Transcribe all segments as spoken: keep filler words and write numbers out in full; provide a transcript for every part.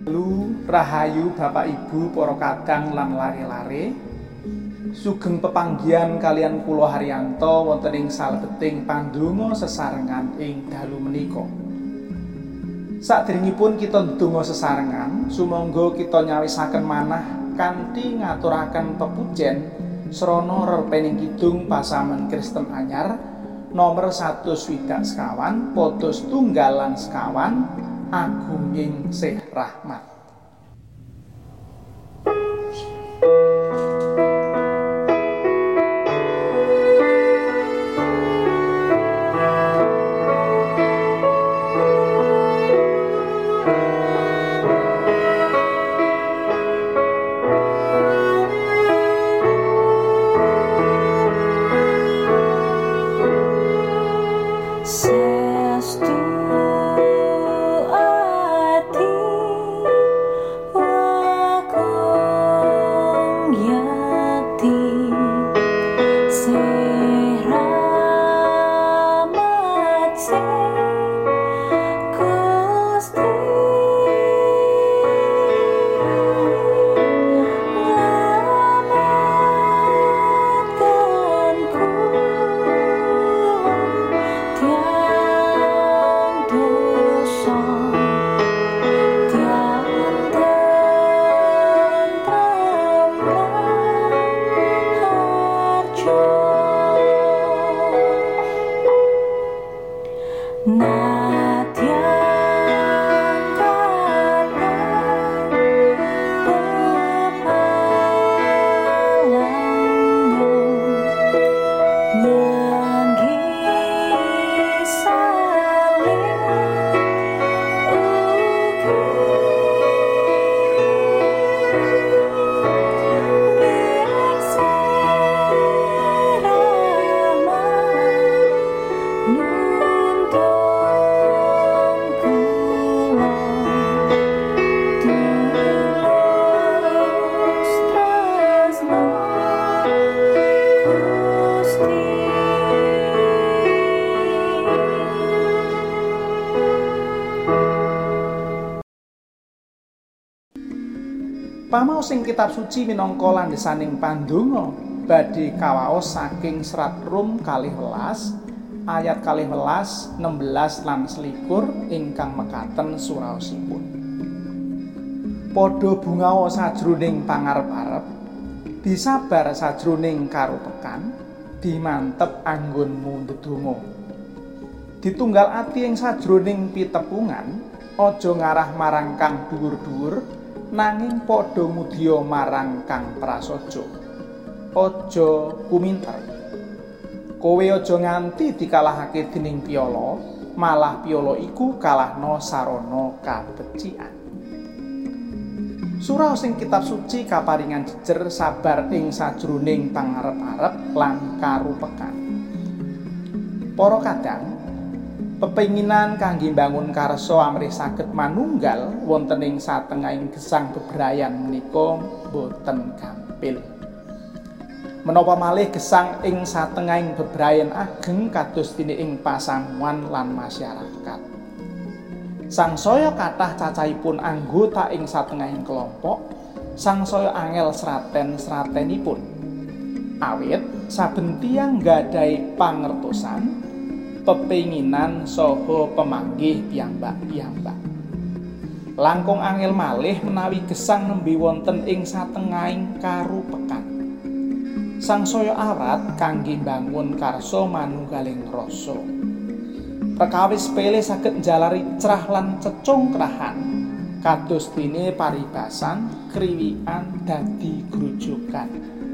Lu rahayu Bapak Ibu para kadang lan lare-lare. Sugeng pepanggihan kalian kula Haryanto wonten ing salebeting pandonga sesarengan ing dalu menika. Saderengipun kita ndonga sesarengan, sumangga kita nyawisaken manah kanthi ngaturaken pepujen srana rerepening kidung pasaman Kristen anyar nomor satus swidak sekawan padha setunggal lan sekawan Agunging Sih Rahmat. Pamaos ing kitab suci minangka landhesaning pandonga badhe kawaos saking serat Rum kalih welas ayat kalih welas, enem belas lan selikur ingkang mekaten suraosipun. Padha bungawa sajroning pangarep-arep, disabar sajroning karupekan, dimantep anggonmu ndedonga. Ditunggal ati ing sajroning pitepungan, aja ngarah marang kang dhuwur-dhuwur, nanging padha mudya marang kang prasaja. Aja kuminter. Kowe aja nganti dikalahake dening piyala, malah piyala iku kalahna sarana kabecikan. Surah sing kitab suci kaparingan jejer sabar ing sajroning pangarep-arep lan karupekan. Para kadang pepenginan kangge mbangun karsa amrih saged manunggal wonten ing satengahing gesang bebrayan menika boten gampil. Menapa malih gesang ing satengahing bebrayan ageng kados dene ing pasamuan lan masyarakat. Sangsaya kathah cacahipun anggota ing satengahing kelompok, sangsaya angel sraten-sratenipun. Awit saben tiyang nggadhahi pangertosan, pepenginan saha pemanggih piyambak-piyambak. Langkung angel malih menawi gesang nembe wonten ing satengahing karupekan. Sangsaya awrat kangge mbangun karsa manunggaling rasa. Perkawis sepele saged njalari cerah lan cecongkrahan, kados dene paribasan, kriwikan dadi grujukan.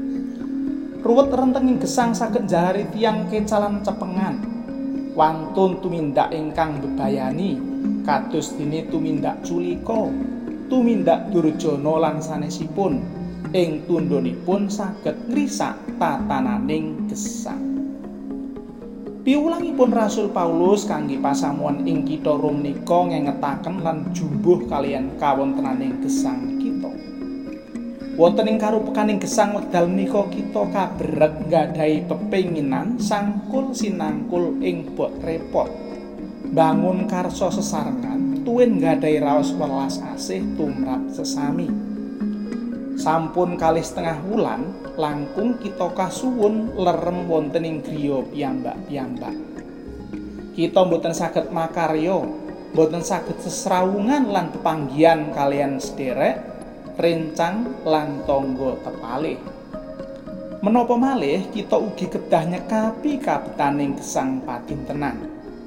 Ruwet rentenging gesang saged njalari tiyang kecalan cepengan, wantun tumindak ingkang bebayani, kados dene tumindak culika, tumindak durjana lan sanesipun, ing tundhonipun saged ngrisak tatananing gesang. Piwulangipun Rasul Paulus kangge pasamuan ing kitha Rom nika ngengetaken lan jumbuh kalian kawontenaning gesang kita. Wonten ing karupekaning gesang wekdal menika kita kabrek nggadahi pepenginan sangkul sinangkul ing bot repot, bangun karsa sesarengan tuwin nggadahi raos welas asih tumrap sesami. Sampun kalih setengah wulan langkung kita kasuwun lerem wonten ing griya piyambak-piyambak. Kita mboten saged makarya, mboten saged sesrawungan lan pepanggihan kalian sederek, rencang lan tangga tepalih. Menapa malih kita ugi kedah nyekapi kabetaning gesang padintenan.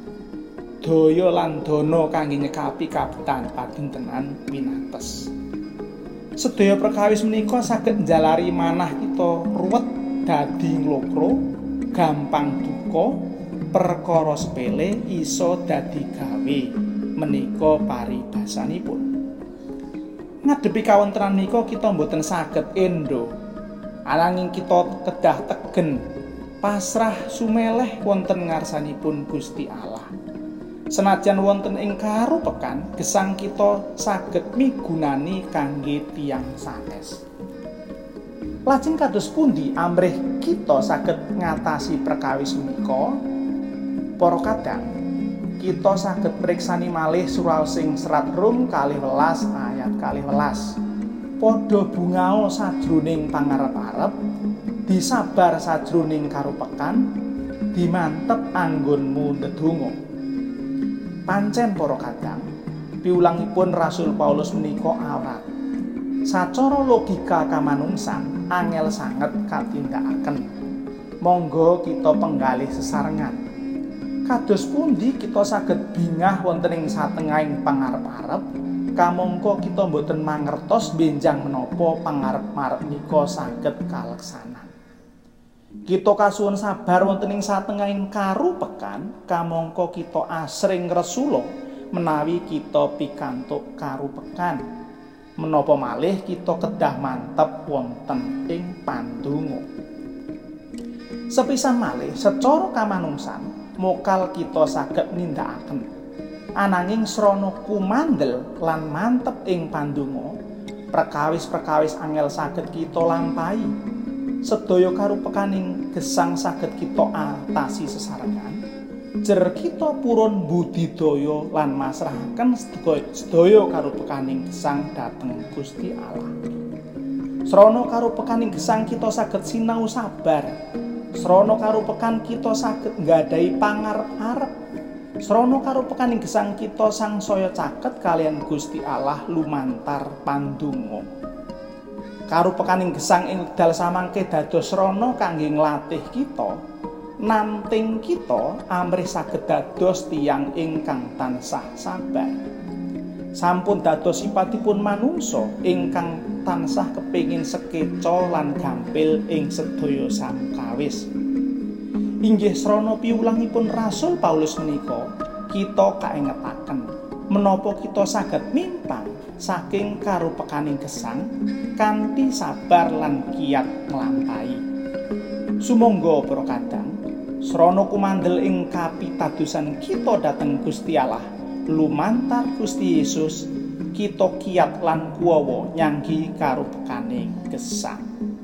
Daya lan dana kangge nyekapi kabetan padintenan winates. Sedaya perkawis menika saged njalari manah kita ruwet dadi nglokro, gampang duka, perkara sepele iso dadi gawe menika paribasanipun. Ngadepi kawontenan menika kita mboten saged endo, ananging kita kedah tegen pasrah sumeleh wonten ngarsanipun Gusti Allah. Senajan wonten ing karupekan gesang kita saged migunani kangge tiyang sanes. Lajeng kados pundi amrih kita saged ngatasi perkawis menika? Para kadang kita saged priksani malih suraosing serat Rum kalih welas ayat kalih welas. Padha bungao sajroning pangarep-arep, disabar sajroning karupekan, dimantep anggonmu ndedonga. Pancen para kadang piwulangipun Rasul Paulus menika awrat. Sacara logika kamanungsan angel sanget katindakaken. Monggo kita penggalih sesarengan. Kados pundi kita saged bingah wonten ing satengahing pangarep-arep, kamangka kita mboten mangertos benjang menapa pangarep-arep nika saged kaleksanan. Kita kasuwun sabar wonten ing satengahing karupekan, kamangka kita asring ngresula menawi kita pikantuk karupekan. Menapa malih kita kedah mantep wonten ing pandonga. Sepisan malih secara kamanungsan mokal kita saged nindakaken. Ananging srana kumandel lan mantep ing pandonga, perkawis-perkawis angel saged kita lampahi. Sedaya karupekaning gesang saged kita atasi sesarengan. Jer kita purun budidaya lan masrahaken sedaya karupekaning gesang dhateng Gusti Allah. Srana karupekaning gesang kita saged sinau sabar. Srana karupekan kita saged nggadahi pangarep-arep. Srana karupekaning gesang kita sangsaya caket kalian Gusti Allah lumantar pandonga. Karupekaning gesang ing wekdal samangke dados srana kangge nglatih kita, nanting kita amrih saged dados tiyang ingkang tansah sabar. Sampun dados sipatipun manungsa ingkang tansah kepingin sekeca lan gampil ing sedaya samkawis. Inggih srana piwulangipun Rasul Paulus menika kita kaengetaken menapa kita saged mimpang saking karupekaning gesang kanthi sabar lan kiat nglampahi. Sumangga para kadang srana kumandel ing kapitadosan kita dhateng Gusti Allah lumantar Gusti Yesus, kita kiat lan kuwawa nyanggi karupekaning gesang.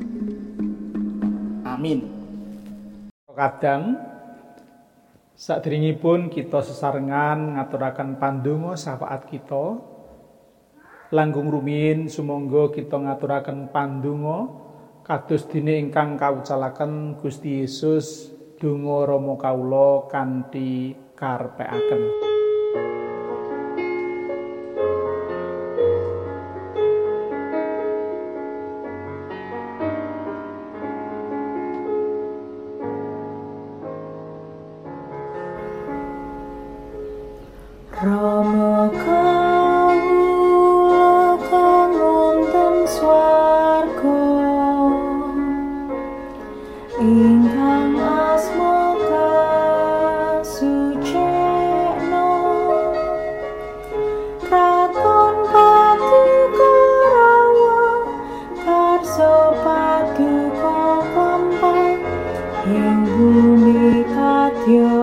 Amin. Kadang sadèrèngipun kita sesarengan ngaturaken pandonga syafaat kita, langkung rumiyin sumangga kita ngaturaken pandonga kados dene ingkang kawucalaken Gusti Yesus, donga Rama kawula kanthi karepekaken. Rama kawula kang wonten swarga, ingkang asma kasucikna, kraton paduka rawa, karsa paduka kampang, ing bumi kadya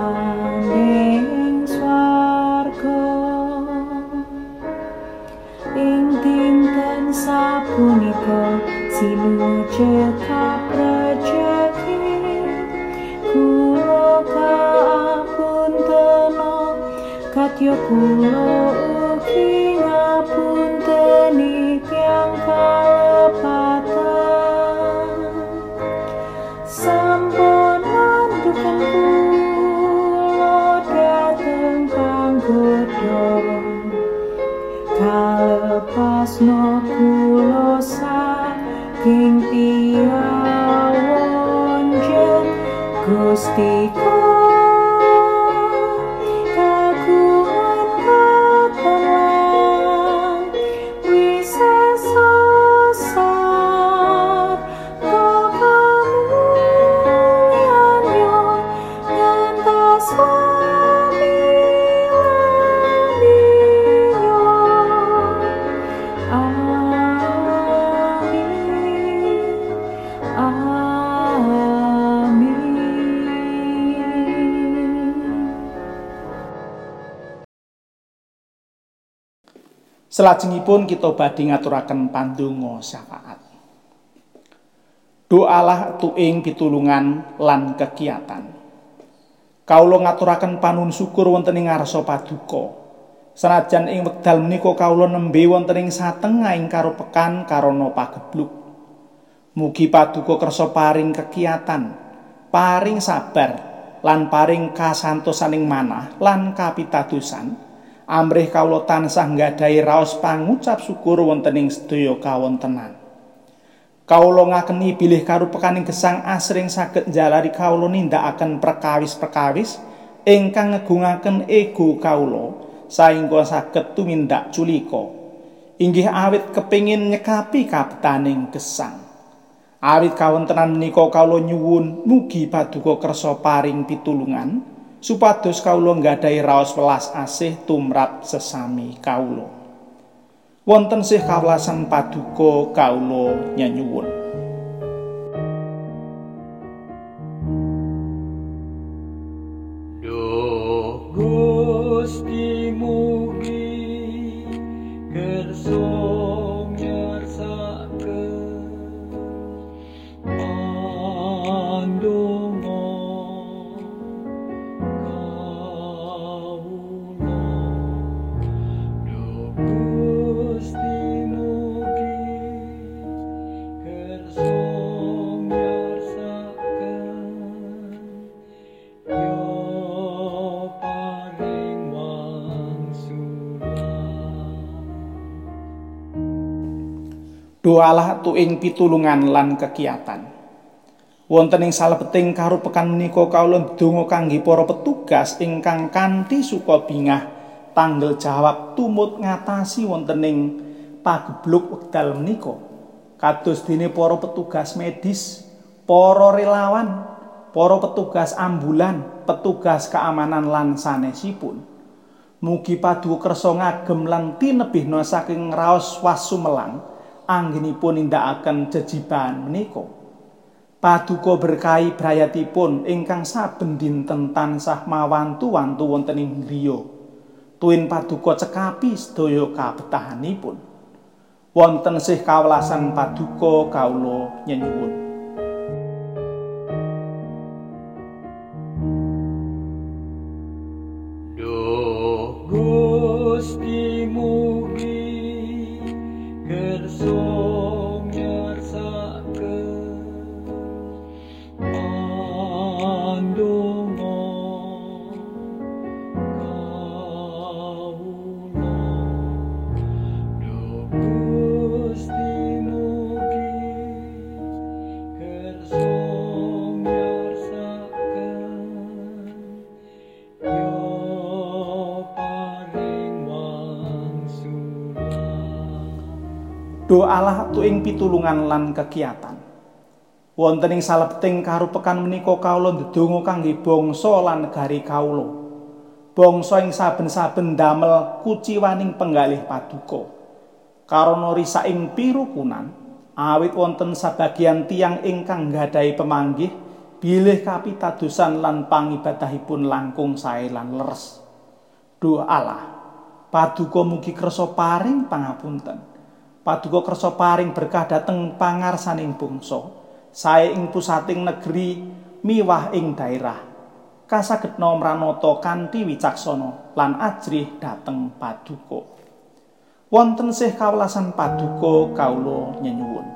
sapunika sinuju kaprejeki kula kapuntena kadya Kadya kula ugi ngapunteni tiyang kalepatan, sampun mandukan kula dhateng panggoda, kalepasno kula saking tiyang wonjen Gusti Selajengipun kita badhe ngaturaken pandonga syafaat. Doalah tuing pitulungan lan kegiatan. Kawula ngaturaken panuwun syukur wonten ing ngarsa paduka. Senajan ing wekdal menika kawula nembe wonten ing satengahing karupekan karana pagebluk. Mugi paduka kersa paring kegiatan, paring sabar, lan paring kasantosaning manah lan kapitadosan. Amrih kawula tansah nggadahi raos pangucap syukur wonten ing sedaya kawontenan. Kawula ngakeni bilih karupekaning gesang asring saged njalari kawula nindakaken perkawis-perkawis ingkang ngegungaken ego kawula saengga saged tumindak culika. Inggih awit kepingin nyekapi kabetaning gesang. Awit kawontenan menika kawula nyuwun mugi paduka kersa paring pitulungan supados kawula nggadahi raos welas asih tumrap sesami kawula. Wonten sih kawelasan paduka kawula nyuwun. Duh Gusti mugi kersa ngersakaken pandonga Doalah tuing pitulungan lan kegiatan. Wonten ing salebeting karupekan menika kawula ndonga kangge para petugas ingkang kanthi suka bingah tanggel jawab tumut ngatasi wonten ing pagebluk wekdal menika. Kados dene para petugas medis, para relawan, para petugas ambulan, petugas keamanan lan sanesipun. Mugi paduka kersa ngagem lan tinebihna saking raos wasumelang anggenipun nindakaken jejiban menika. Paduka berkahi brayatipun ingkang saben dinten tansah mawantu-wantu wonten ing griya. Tuwin paduka cekapi sedaya kabetahanipun. Wonten sih kawelasan paduka kawula nyuwun. Duh Gusti mugi kersa ngersakaken pandonga kawula. Duh Gusti mugi kersa ngersakaken yo paring wangsulan. Doalah tuing pitulungan lan kegiatan. Wonten ing salebeting karupekan menika kawula ndedonga kangge bangsa lan negari kawula. Bangsa ing saben-saben damel kuciwaning penggalih paduka. Karana risaking pirukunan, awit wonten sabagian tiyang ingkang nggadahi pemanggih bilih kapitadosan lan pangibadahipun langkung sae lan leres. Doalah paduka mugi kersa paring pangapunten. Paduka kersa paring berkah dhateng pangarsaning bangsa, sae ing pusating negeri miwah ing daerah. Kasagedna mranata kanthi wicaksana lan ajrih dhateng paduka. Wonten sih kawelasan paduka kawula nyenyuwun.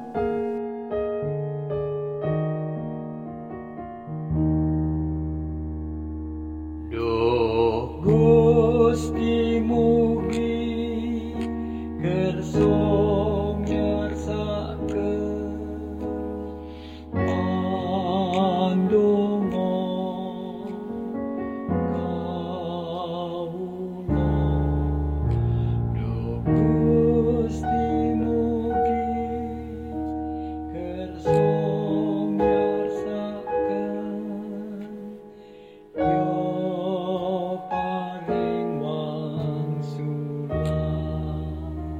Duh Gusti mugi kersa nyarsakaken pandonga kawula. Duh Gusti mugi kersa nyarsakaken yo paring wangsulan.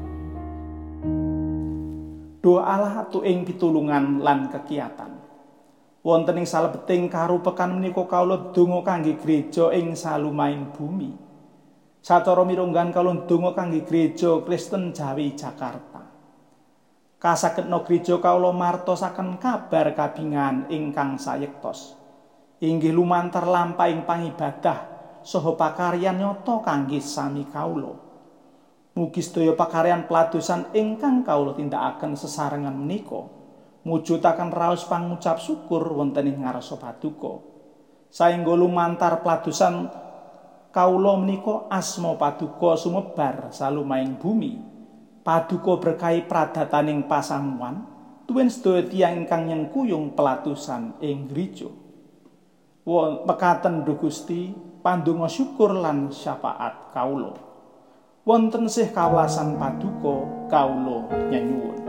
Doa Allah atu ing pitulungan lan kekiatan. Wonten ing salebeting karupekan menika kawula donga kangge gereja ing salumahing bumi. Sacara mirunggan kawula donga kangge gereja Kristen Jawi Jakarta. Kasagedna gereja kawula martosaken kabar kabingahan ingkang sayektos. Inggih lumantar lampahing pangibadah saha pakaryan nyata kangge sami kawula. Mugi sedaya pakaryan peladosan ingkang kawula tindakaken sesarengan menika mujudaken raos pangucap syukur wonten ing ngarsa paduka. Saengga lumantar peladosan kawula menika asma paduka sumebar salumahing bumi. Paduka berkahi pradataning pasamuan tuwin sedaya tiyang ingkang nyengkuyung peladosan ing gereja. Mekaten Duh Gusti pandonga syukur lan syafaat kawula. Wonten sih kawelasan paduka kawula nyanyuwun.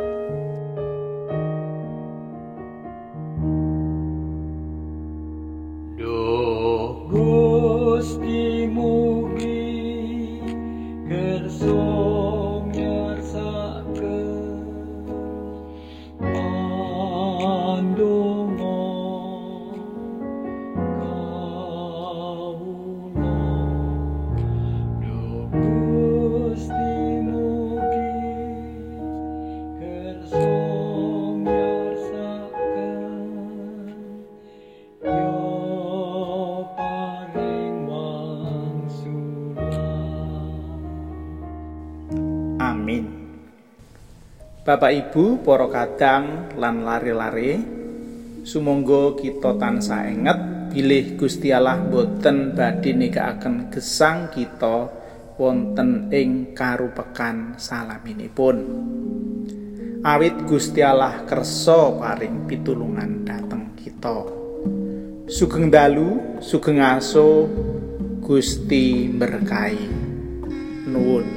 Duh Gusti mugi kersa nyarsakaken pandonga kawula. Duh Gusti mugi kersa nyarsakaken yo paring wangsulan. Amin. Bapak Ibu, para kadang lan lare-lare, sumangga kita tansah enget bilih Gusti Allah boten badhe nikakaken gesang kita wonten ing karupekan salaminipun. Awit Gusti Allah kersa paring pitulungan dhateng kita. Sugeng dalu, sugeng aso, Gusti berkahi. Nuwun.